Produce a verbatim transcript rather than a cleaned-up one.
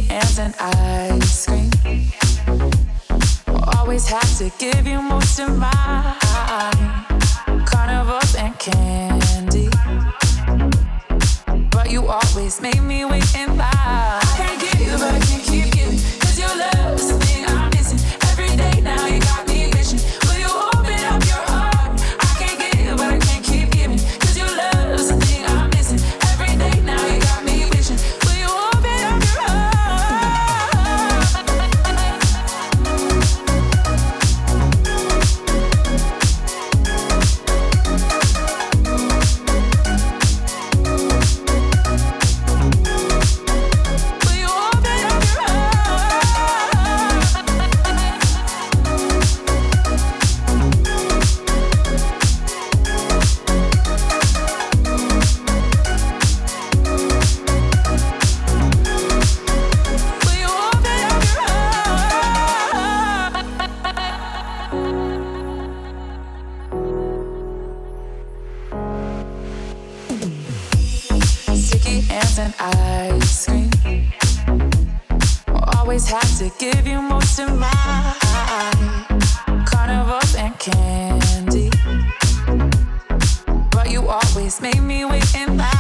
hands and ice cream. Always have to give you most of mine. Carnivals and candy, but you always make me wait in line. I can't give you, but I can't keep giving, 'cause your love is the thing I'm missing. Every day now you got me wishing. Will you open up your heart? I can't give, but I can't keep giving, 'cause your love is the thing I'm missing. Every day now you got me wishing. Will you open up your heart? Will you open up your heart? Will you open up your heart? Sticky hands and ice cream. Always have to give you most of mine. Carnivals and candy, but you always make me wait in line.